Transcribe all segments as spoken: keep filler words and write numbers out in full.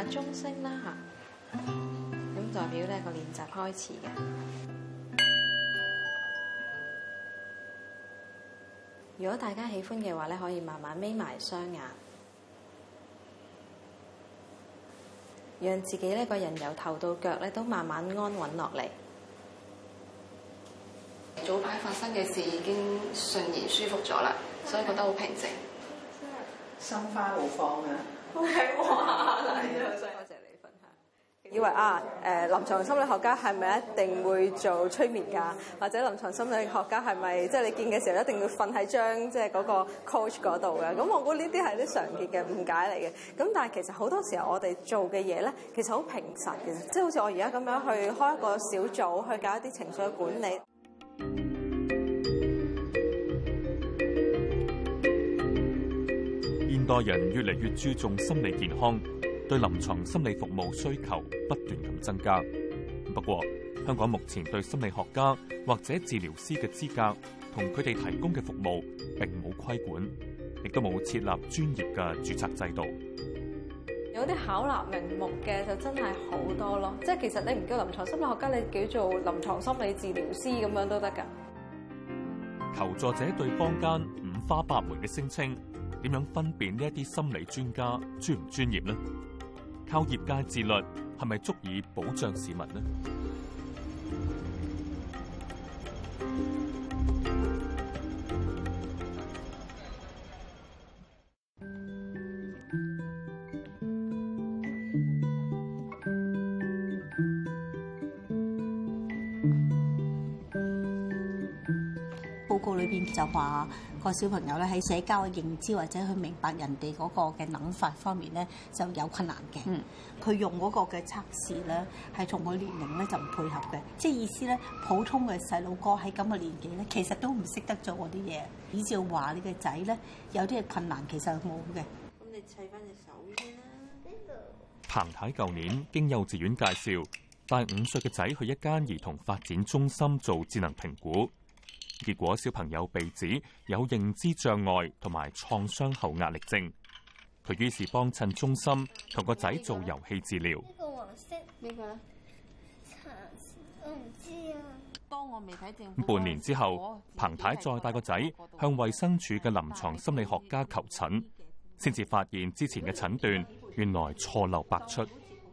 中聲啦嚇，咁代表呢個練習開始嘅。如果大家喜歡嘅話咧，可以慢慢眯埋雙眼，讓自己呢個人由頭到腳咧都慢慢安穩落嚟。 早排發生嘅事已經順然舒服咗啦，所以覺得好平靜。 心花怒放啊！ OK， 哇！多謝你分享。以為啊，誒臨床心理學家係咪一定會做催眠㗎？或者臨床心理學家係咪即係你見嘅時候一定要瞓喺張即係嗰個 coach 嗰度嘅？咁我估呢啲係啲常見嘅誤解嚟嘅。咁但係其實好多時候我哋做嘅嘢咧，其實好平實嘅，即係好似我而家咁樣去開一個小組去搞一啲情緒嘅管理。 現代人越嚟越注重心理健康，對臨床心理服務需求不斷咁增加。不過，香港目前對心理學家或者治療師嘅資格同佢哋提供嘅服務並冇規管，亦都冇設立專業嘅註冊制度。 有啲巧立名目嘅就真係好多咯，即係其實你唔叫臨床心理學家，你叫做臨床心理治療師咁樣都得㗎。 求助者對坊間五花八門嘅聲稱，點樣分辨呢一啲心理專家專唔專業呢？靠業界自律係咪足以保障市民呢？ 報告裏邊就話個小朋友咧喺社交嘅認知或者去明白人哋嗰個嘅諗法方面咧就有困難嘅。嗯，佢用嗰個嘅測試咧係同佢年齡咧就唔配合嘅，即係意思咧普通嘅細路哥喺咁嘅年紀咧其實都唔識得做嗰啲嘢。依照話你嘅仔咧有啲嘅困難其實冇嘅。咁你砌翻隻手先啦。 彭太舊年經幼稚園介紹帶五歲嘅仔去一間兒童發展中心做智能評估。結果小朋友被指有認知障礙同埋創傷後壓力症，佢於是幫襯中心同個仔做遊戲治療。 呢個黃色呢個橙色，我唔知啊。當我未睇政府。 半年之後，彭太再帶個仔向衛生署嘅臨床心理學家求診，先至發現之前嘅診斷原來錯漏百出。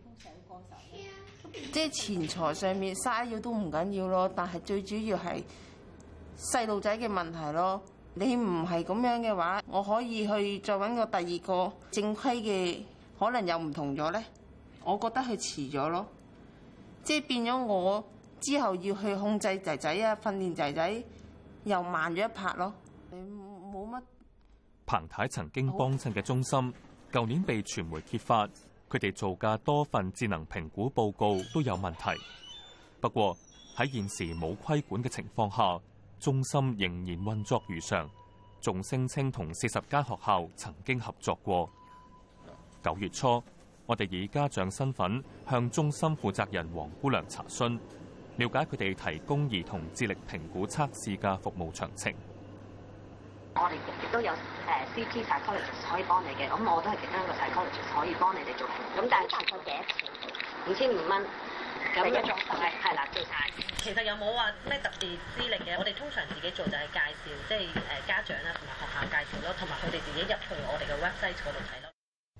即係錢財上面嘥咗都唔緊要咯，但係最主要係細路仔嘅問題咯。你唔係咁樣嘅話，我可以去再揾個第二個正規嘅，可能又唔同咗咧。我覺得佢遲咗咯，即係變咗我之後要去控制仔仔啊，訓練仔仔又慢咗一拍咯。你冇乜。 彭太曾經幫襯嘅中心，舊年被傳媒揭發，佢哋做嘅多份智能評估報告都有問題。不過喺現時冇規管嘅情況下，中心仍然運作如常，仲聲稱同四十間學校曾經合作過。九月初，我哋以家長身份向中心負責人黃姑娘查詢，了解佢哋提供兒童智力評估測試嘅服務詳情。 我哋亦都有誒 C T psychologist 可以幫你嘅，咁我都係其中一個 psychologist 可以幫你哋做評估。咁但係大概幾多錢？五千五蚊。咁一種係係啦，做晒。 其實有冇話咩特別資歷嘅？我哋通常自己做就係介紹，即係誒家長啦同埋學校介紹咯，同埋佢哋自己入去我哋嘅 website 嗰度睇咯。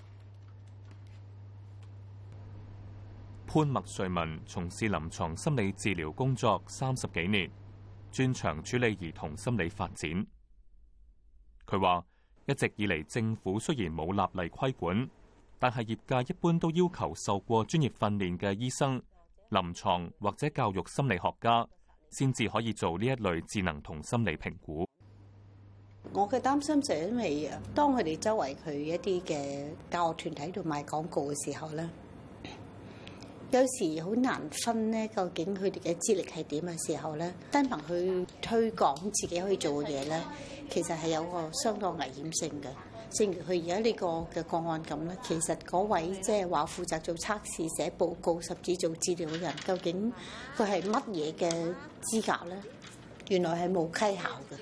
潘麥瑞文從事臨床心理治療工作三十幾年，專長處理兒童心理發展。佢話：一直以嚟政府雖然冇立例規管，但係業界一般都要求受過專業訓練嘅醫生、臨床或者教育心理學家，先至可以做呢一類智能同心理評估。 我嘅擔心就係因為當佢哋周圍去一啲嘅教學團體度賣廣告嘅時候咧，有時好難分咧，究竟佢哋嘅資歷係點嘅時候咧，單憑去推廣自己可以做嘅嘢咧，其實係有個相當危險性嘅。正如佢而家呢個嘅個案咁咧，其實嗰位即係話負責做測試、寫報告甚至做治療嘅人，究竟佢係乜嘢嘅資格咧？原來係冇稽考嘅。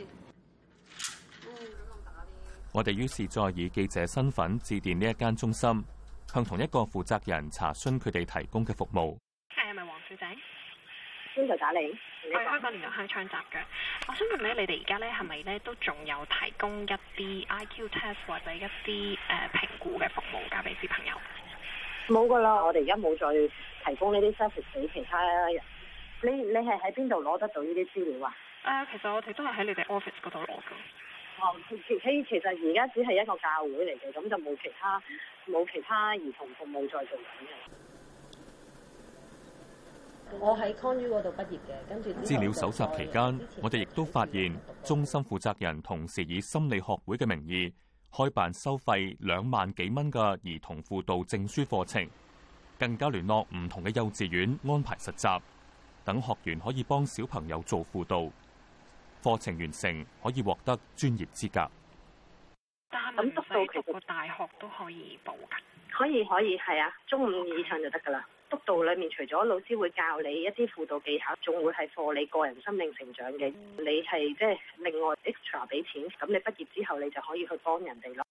我哋於是再以記者身份致電呢一間中心， 向同一個負責人查詢佢哋提供嘅服務。 係咪黃小姐？ 邊度打你？ 我係香港連續香槍集嘅。我想問咧，你哋而家咧係咪咧都仲有提供一啲 I Q test 或者一啲誒、呃、評估嘅服務交俾小朋友？ 冇噶啦，我哋而家冇再提供呢啲 service 俾其他人。你你係喺邊度攞得到呢啲資料啊？誒、 呃，其實我哋都係喺你哋 office 嗰度攞㗎。 哦，其其其實而家只係一個教會嚟嘅，咁就冇其他冇其他兒童服務再做緊嘅。 我喺 Con U 嗰度畢業嘅，跟住資料搜集期間，我哋亦都發現中心負責人同時以心理學會嘅名義開辦收費兩萬幾蚊嘅兒童輔導證書課程，更加聯絡唔同嘅幼稚園安排實習，等學員可以幫小朋友做輔導。課程完成可以獲得專業資格。 但係咁督導其實個大學都可以報㗎。 可以可以係啊，中五以上就得㗎啦。督導裡面除咗老師會教你一啲輔導技巧，仲會係課你個人心靈成長嘅。你係即係另外 extra 俾錢，咁你畢業之後你就可以去幫人哋咯。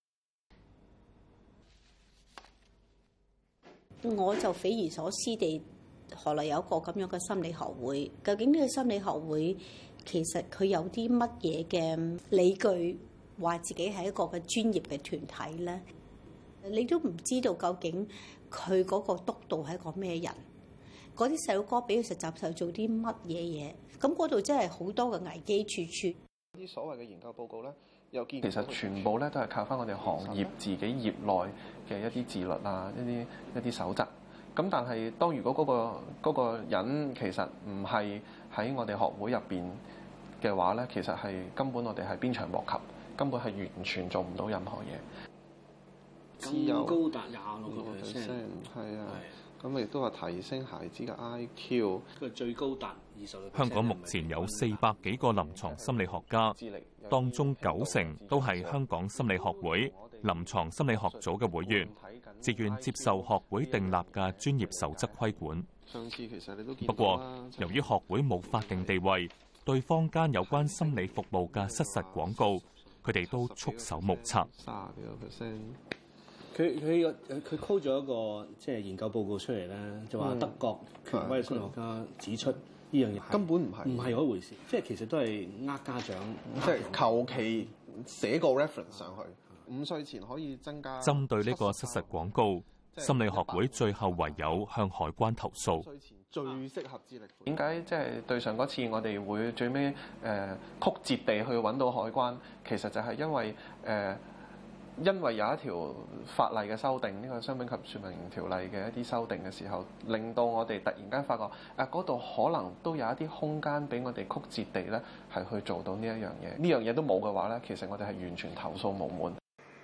我就匪夷所思地，何來有一個咁樣嘅心理學會？究竟呢個心理學會其實佢有啲乜嘢嘅理據，話自己係一個嘅專業嘅團體咧？你都唔知道究竟佢嗰個督導係一個咩人？嗰啲細路哥俾佢實習時候做啲乜嘢嘢？咁嗰度真係好多嘅危機處處。 啲所謂嘅研究報告咧，又見其實全部咧都係靠翻我哋行業自己業內嘅一啲自律啊，一啲一啲守則。咁但係當如果嗰個嗰個人其實唔係喺我哋學會入邊嘅話咧，其實係根本我哋係鞭長莫及，根本係完全做唔到任何嘢。 咁高達廿六個 percent， 係啊，咁亦都話提升孩子嘅 I Q， 佢最高達二十六。 香港目前有四百幾個臨床心理學家，當中九成都係香港心理學會臨床心理學組嘅會員，自願接受學會訂立嘅專業守則規管。 上次其實你都見到啦。 不過，由於學會冇法定地位，對坊間有關心理服務嘅失實廣告，佢哋都束手無策。 卅幾個 percent。 佢佢佢 call 咗一個即係研究報告出嚟咧，就話德國權威心理學家指出呢樣嘢根本唔係唔係嗰回事，即係其實都係呃家長， 即係求其寫個 reference 上去，五歲前可以增加。 針對呢個失實廣告，心理學會最後唯有向海關投訴。 最適合智力。點解即係對上嗰次我哋會最尾誒、呃、曲折地去揾到海關？其實就係因為誒。呃因為有一條法例嘅修訂，呢、這個商品及說明條例嘅一啲修訂嘅時候，令到我哋突然間發覺，誒嗰度可能都有一啲空間俾我哋曲折地咧係去做到呢一樣嘢。呢樣嘢都冇嘅話咧，其實我哋係完全投訴無門。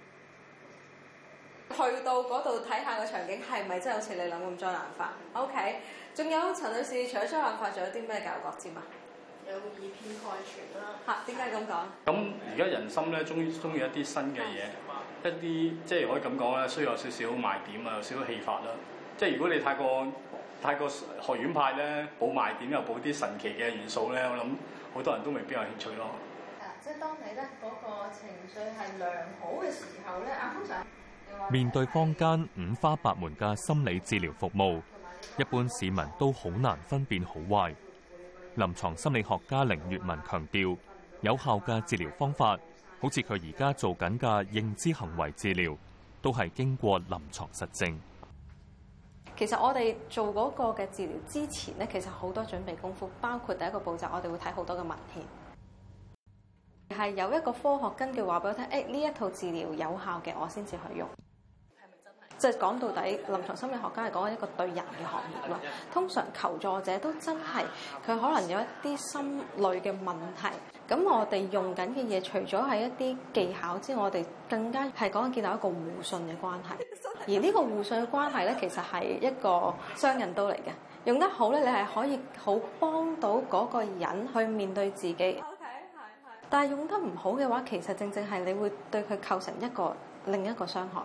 去到嗰度睇下個場景係咪真係好似你諗咁災難化 ？OK， 仲有陳女士，除咗災難化，仲有啲咩教育角尖啊？ 有以偏概全啦。 嚇，點解咁講？ 咁而家人心咧，終於中意一啲新嘅嘢，一啲即係可以咁講咧，需要有少少賣點啊，有少少戲法啦。即係如果你太過太過學院派咧，補賣點又補啲神奇嘅元素咧，我諗好多人都未必有興趣咯。 係啊，即係當你咧嗰個情緒係良好嘅時候咧，啊通常面對坊間五花八門嘅心理治療服務，一般市民都好難分辨好壞。臨床心理學家凌月文強調，有效嘅治療方法，好似佢而家做緊嘅認知行為治療，都係經過臨床實證。 其實我哋做嗰個嘅治療之前咧，其實好多準備功夫，包括第一個步驟，我哋會睇好多嘅文獻，係有一個科學根據話俾我聽，誒呢一套治療有效嘅，我先至去用。即係講到底，臨床心理學家係講緊一個對人嘅行業咯。通常求助者都真係佢可能有一啲心類嘅問題。咁我哋用緊嘅嘢，除咗係一啲技巧之外，我哋更加係講緊建立一個互信嘅關係。而呢個互信嘅關係咧，其實係一個雙刃刀嚟嘅。用得好咧，你係可以好幫到嗰個人去面對自己。OK， 但係用得唔好嘅話，其實正正係你會對佢構成一個另一個傷害。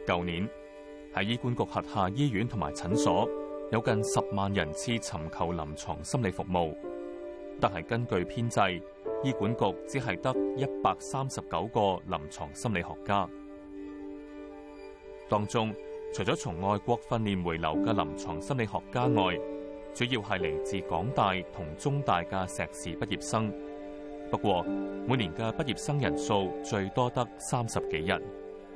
舊年喺醫管局轄下醫院同埋診所有近十萬人次尋求臨床心理服務，但係根據編制，醫管局只係得一百三十九個臨床心理學家。當中除咗從外國訓練回流嘅臨床心理學家外，主要係嚟自港大同中大嘅碩士畢業生。不過每年嘅畢業生人數最多得三十幾人。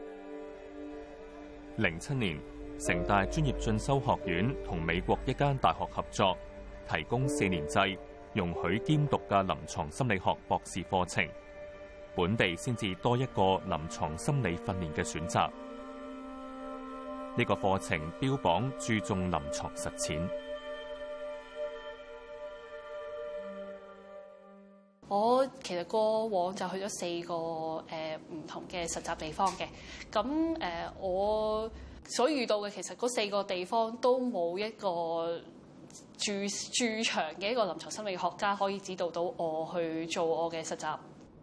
零七年，城大專業進修學院同美國一間大學合作，提供四年制容許兼讀嘅臨床心理學博士課程，本地先至多一個臨床心理訓練嘅選擇。呢個課程標榜注重臨床實踐。 我其實過往就去咗四個誒唔、呃、同嘅實習地方嘅，咁誒、呃、我所遇到嘅其實嗰四個地方都冇一個駐駐場嘅一個臨床心理學家可以指導到我去做我嘅實習。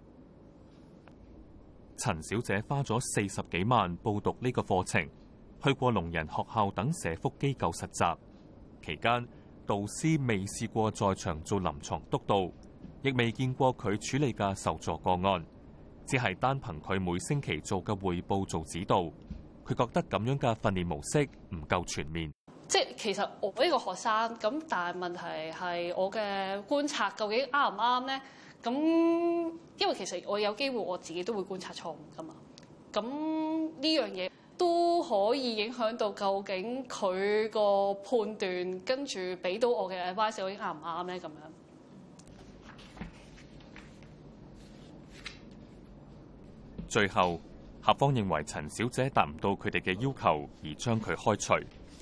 陳小姐花咗四十幾萬報讀呢個課程，去過聾人學校等社福機構實習，期間導師未試過在場做臨床督導，亦未見過佢處理嘅受助個案，只係單憑佢每星期做嘅匯報做指導。佢覺得咁樣嘅訓練模式唔夠全面。 即係其實我呢個學生咁，但係問題係我嘅觀察究竟啱唔啱咧？咁因為其實我有機會我自己都會觀察錯誤㗎嘛。咁呢樣嘢都可以影響到究竟佢個判斷，跟住俾到我嘅 advice 究竟啱唔啱咧？咁樣。 最後，校方認為陳小姐達唔到佢哋嘅要求，而將佢開除。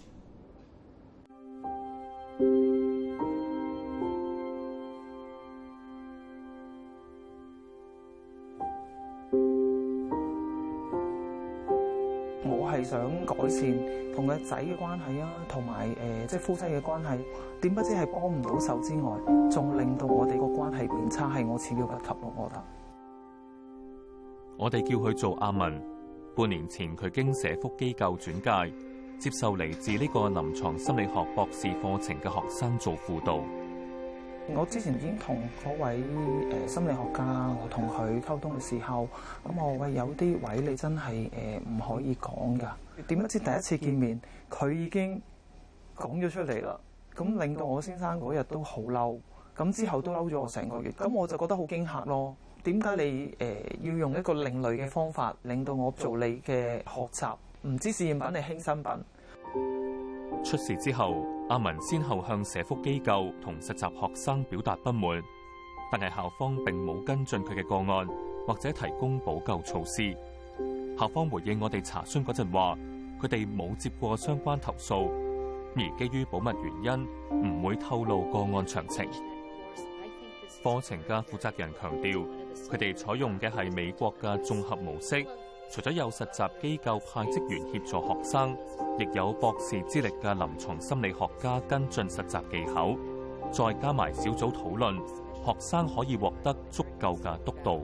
我係想改善同個仔嘅關係啊，同埋誒即係夫妻嘅關係。點不知係幫唔到手之外，仲令到我哋個關係變差，係我始料不及咯，我覺得。 我哋叫佢做阿文。半年前佢經社福機構轉介，接受嚟自呢個臨床心理學博士課程嘅學生做輔導。 我之前已經同嗰位誒心理學家，我同佢溝通嘅時候，咁我話有啲位你真係誒唔可以講㗎。點不知第一次見面，佢已經講咗出嚟啦。咁令到我先生嗰日都好嬲，咁之後都嬲咗我成個月。咁我就覺得好驚嚇咯。點解你誒、呃、要用一個另類嘅方法，令到我做你嘅學習？唔知試驗品定輕身品？ 出事之後，阿文先後向社福機構同實習學生表達不滿，但係校方並冇跟進佢嘅個案，或者提供補救措施。校方回應我哋查詢嗰陣話，佢哋冇接過相關投訴，而基於保密原因，唔會透露個案詳情。課程嘅負責人強調，佢哋採用嘅係美國嘅綜合模式，除咗有實習機構派職員協助學生，亦有博士資歷嘅臨床心理學家跟進實習技巧，再加埋小組討論，學生可以獲得足夠嘅督導。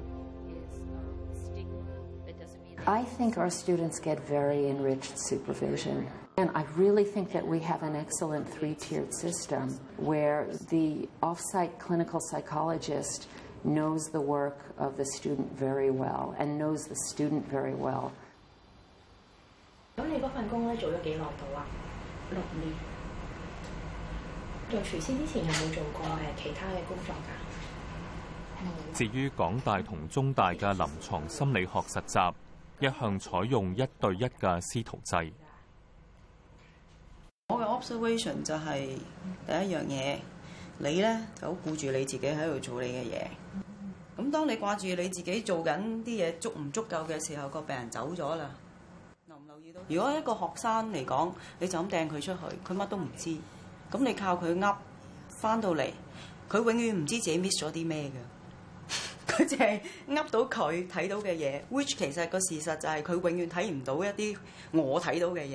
I think our students get very enriched supervision. And I really think that we have an excellent three-tiered system where the off-site clinical psychologist knows the work of the student very well and knows the student very well. 咁你嗰份工咧做咗幾耐到啊？六年。做廚師之前有冇做過誒其他嘅工作㗎？ 至於港大同中大嘅臨床心理學實習，一向採用一對一嘅師徒制。 我嘅 observation 就係第一樣嘢，你咧就好顧住你自己喺度做你嘅嘢。咁當你掛住你自己做緊啲嘢足唔足夠嘅時候，個病人走咗啦。留唔留意到？如果一個學生嚟講，你就咁掟佢出去，佢乜都唔知。咁你靠佢噏翻到嚟，佢永遠唔知自己 miss 咗啲咩嘅。佢淨係噏到佢睇到嘅嘢 ，which 其實個事實就係佢永遠睇唔到一啲我睇到嘅嘢。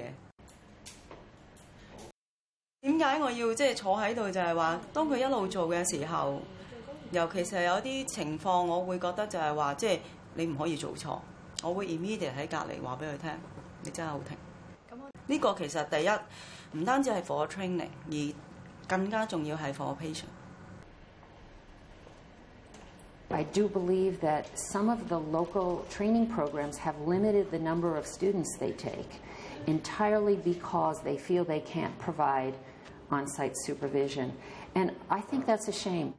點解我要即係坐喺度？就係話，當佢一路做嘅時候，尤其是係有啲情況，我會覺得就係話，即係你唔可以做錯。我會 immediate 喺隔離話俾佢聽， 你真係好停。呢個其實第一唔單止係 for training， 而更加重要係 for patient。 I do believe that some of the local training programs have limited the number of students they take entirely because they feel they can't provide on-site supervision. And I think that's a shame.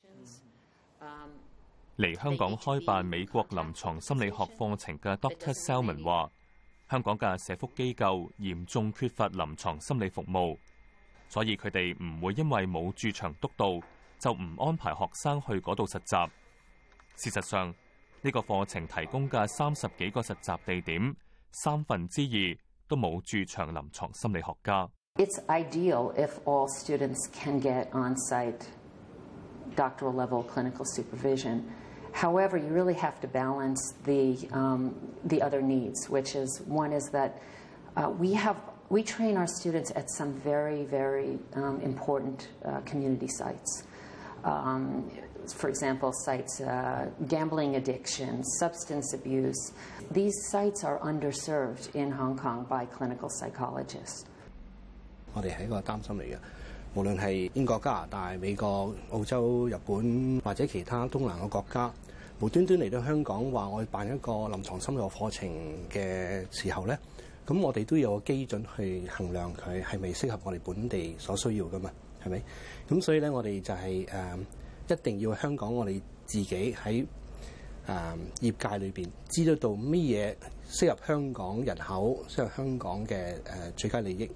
嚟香港開辦美國臨床心理學課程嘅 Doctor Selman 話，香港嘅社福機構嚴重缺乏臨床心理服務，所以佢哋唔會因為冇駐場督導就唔安排學生去嗰度實習。事實上，呢個課程提供嘅三十幾個實習地點，三分之二都冇駐場臨床心理學家。 It's ideal if all students can get on-site doctoral level clinical supervision. However, you really have to balance the um, the other needs, which is one is that uh, we have we train our students at some very very um, important uh, community sites. Um, For example, sites, uh, gambling addiction, substance abuse. These sites are underserved in Hong Kong by clinical psychologists. 我哋係一個擔心嚟嘅，無論係英國、加拿大、美國、澳洲、日本或者其他東南亞國家，無端端嚟到香港話我辦一個臨床心理學課程嘅時候咧，咁我哋都有個基準去衡量佢係咪適合我哋本地所需要噶嘛，係咪？咁所以咧，我哋就係、是、誒。呃一定要香港我哋自己喺誒、呃、業界裏邊知得到乜嘢適合香港人口、適合香港嘅誒、呃、最佳利益。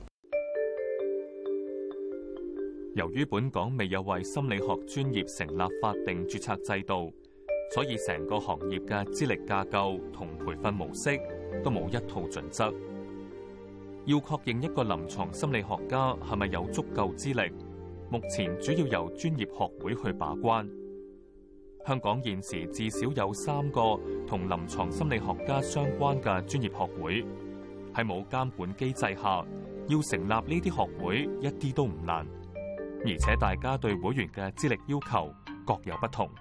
由於本港未有為心理學專業成立法定註冊制度，所以成個行業嘅資歷架構同培訓模式都冇一套準則。要確認一個臨床心理學家係咪有足夠資歷，目前主要由專業學會去把關。香港現時至少有三個同臨床心理學家相關嘅專業學會，喺冇監管機制下，要成立呢啲學會一啲都唔難，而且大家對會員嘅資歷要求各有不同。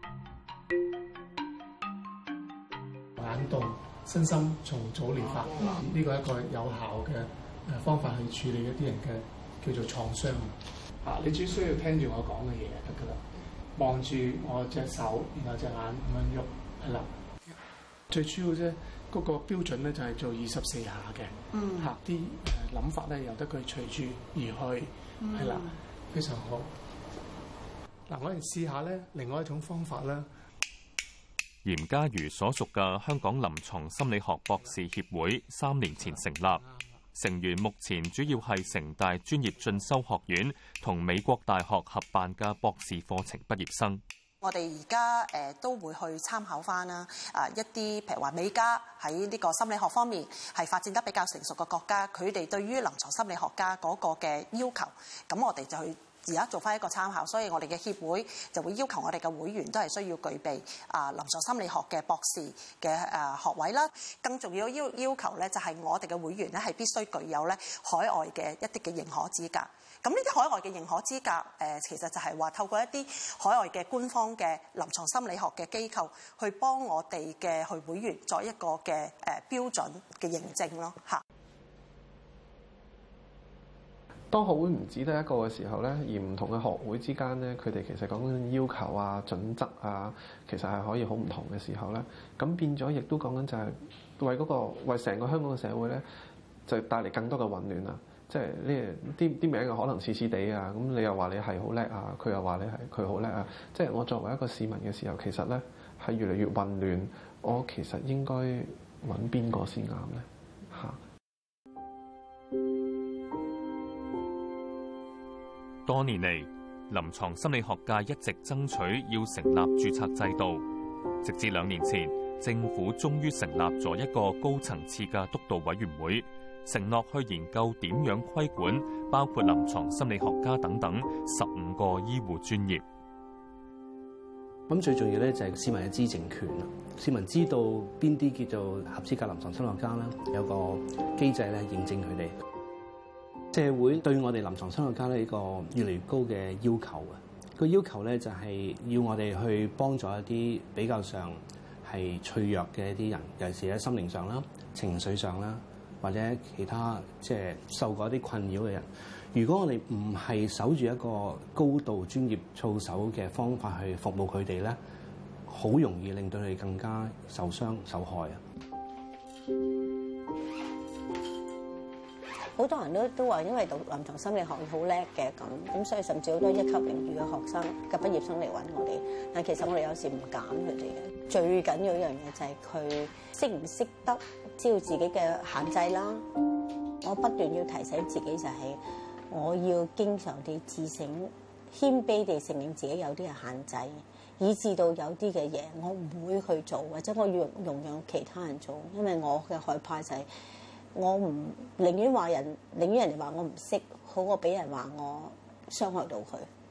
眼動身心重組療法呢個係一個有效嘅方法去處理一啲人嘅叫做創傷。啊！你只需要聽住我講嘅嘢就得㗎啦，望住我隻手，然後隻眼咁樣喐，係啦。最主要啫，嗰個標準咧就係做二十四下嘅， 嗯， 嚇啲誒諗法咧由得佢隨住而去，係啦，非常好。嗱，我哋試下咧，另外一種方法啦。 嚴家瑜所屬嘅香港臨床心理學博士協會三年前成立。成員目前主要係城大專業進修學院同美國大學合辦嘅博士課程畢業生。 我哋而家誒都會去參考翻啦，啊一啲譬如話美加喺呢個心理學方面係發展得比較成熟嘅國家，佢哋對於臨床心理學家嗰個嘅要求，咁我哋就去而家做翻一個參考，所以我哋嘅協會就會要求我哋嘅會員都係需要具備啊臨床心理學嘅博士嘅誒學位啦。更重要要要求咧，就係我哋嘅會員咧係必須具有咧海外嘅一啲嘅認可資格。咁呢啲海外嘅認可資格誒，其實就係話透過一啲海外嘅官方嘅臨床心理學嘅機構去幫我哋嘅去會員作一個嘅誒標準嘅認證咯嚇。 當學會唔止得一個嘅時候咧，而唔同嘅學會之間咧，佢哋其實講緊要求啊、準則啊，其實係可以好唔同嘅時候咧，咁變咗亦都講緊就係為嗰個為成個香港嘅社會咧，就帶嚟更多嘅混亂啊！即係呢啲啲名嘅可能似似地啊，咁你又話你係好叻啊，佢又話你係佢好叻啊，即係我作為一個市民嘅時候，其實咧係越嚟越混亂，我其實應該揾邊個先啱咧？嚇！ 多年嚟，臨床心理學界一直爭取要成立註冊制度，直至兩年前，政府終於成立咗一個高層次嘅督導委員會，承諾去研究點樣規管包括臨床心理學家等等十五個醫護專業。 咁最重要咧就係市民嘅知情權啦，市民知道邊啲叫做合資格臨床心理學家啦，有個機制咧認證佢哋。社會對我哋臨床心理學家呢一個越嚟越高嘅要求啊！個要求咧就係要我哋去幫助一啲比較上係脆弱嘅一啲人，尤其是喺心靈上啦、情緒上啦， 或者其他即係受過一啲困擾嘅人，如果我哋唔係守住一個高度專業操守嘅方法去服務佢哋咧，好容易令到佢哋更加受傷受害啊！ 好多人都都話，因為讀臨床心理學好叻嘅咁，咁所以甚至好多一級榮譽嘅學生嘅畢業生嚟揾我哋。但其實我哋有時唔揀佢哋嘅，最緊要一樣嘢就係佢識唔識得知道自己嘅限制啦。我不斷要提醒自己就係，我要經常地自省，謙卑地承認自己有啲嘅限制，以至到有啲嘅嘢我唔會去做，或者我要容讓其他人做，因為我嘅害怕就係、是。我唔寧願話人，寧願人哋話我唔識，好過俾人話我傷害到佢。